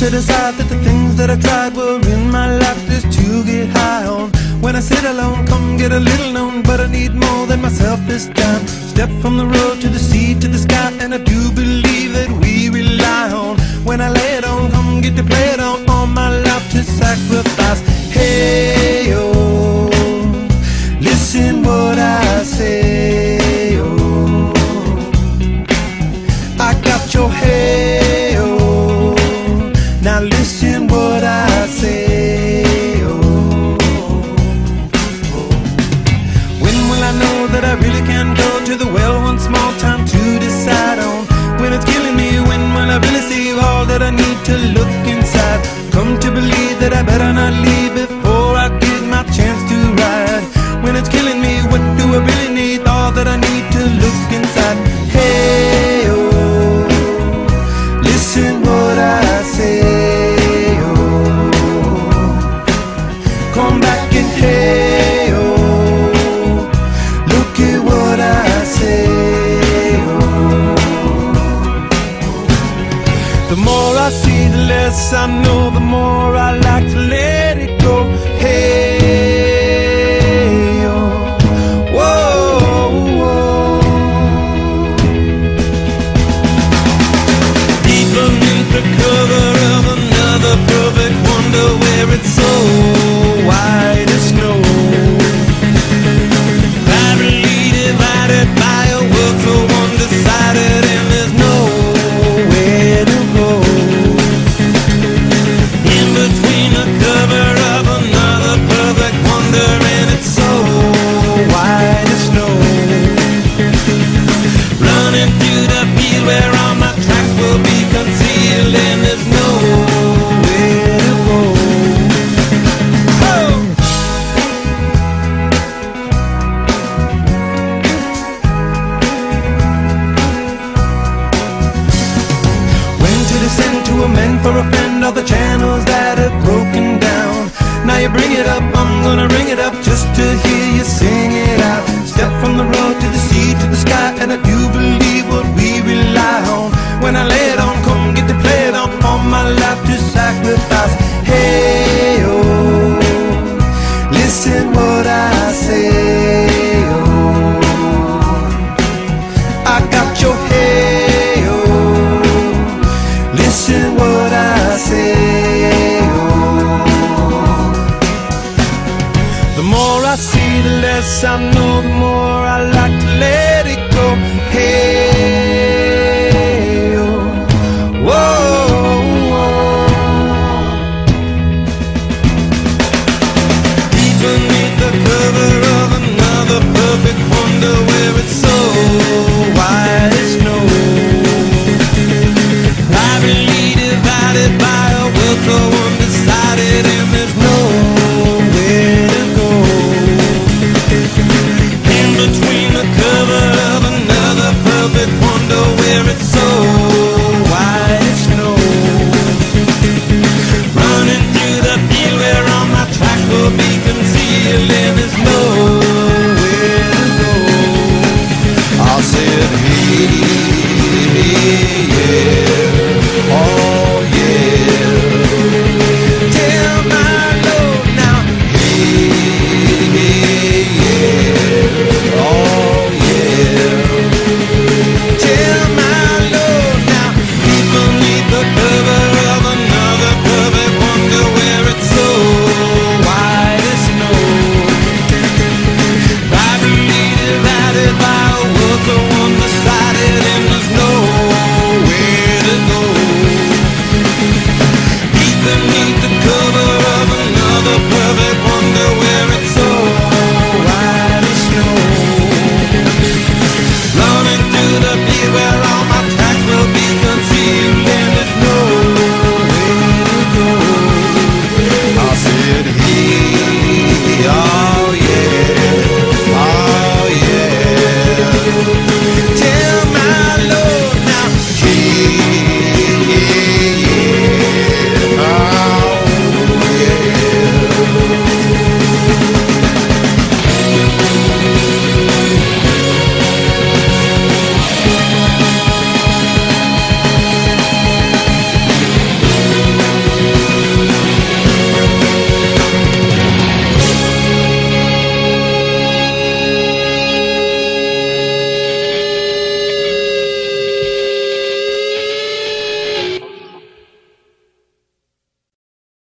to decide that the things that I tried were in my life just to get high on. When I sit alone, come get a little known, but I need more than myself this time. Step from the road to the sea to the sky, and I do believe that we rely on. When I lay it on, come get to play it on, all my life to sacrifice. Hey, oh, listen what I say, oh, I got your hey, oh, now listen what I say, oh, when will I know that I really can go to the well one small time to decide on? When it's killing me, when will I really see all that I need to look inside? Come to believe that I better not leave before I get my chance to ride. When it's killing me, what do I really need? All that I need to look inside. Hey, oh, listen what I say, oh, come back and hey, oh, look at what I say, oh. The more I see, the less I know, the more I like to let it go. Hey, oh, whoa, whoa. Deep beneath the cover of another perfect wonder, where it's so white as snow, privately divided by a world so undecided, and there's nowhere to go. In between the cover of another perfect wonder, and it's so white as snow, running through the field where all my tracks will be concealed, and there's nowhere to go. Oh! When to descend to amend for a friend all the channels that have broken down. Now you bring it up, I'm gonna ring it up just to hear you sing it out. Step from the road to the sea to the sky, and I do believe what we rely on. When I lay it on, come get to play it on, all my life to sacrifice.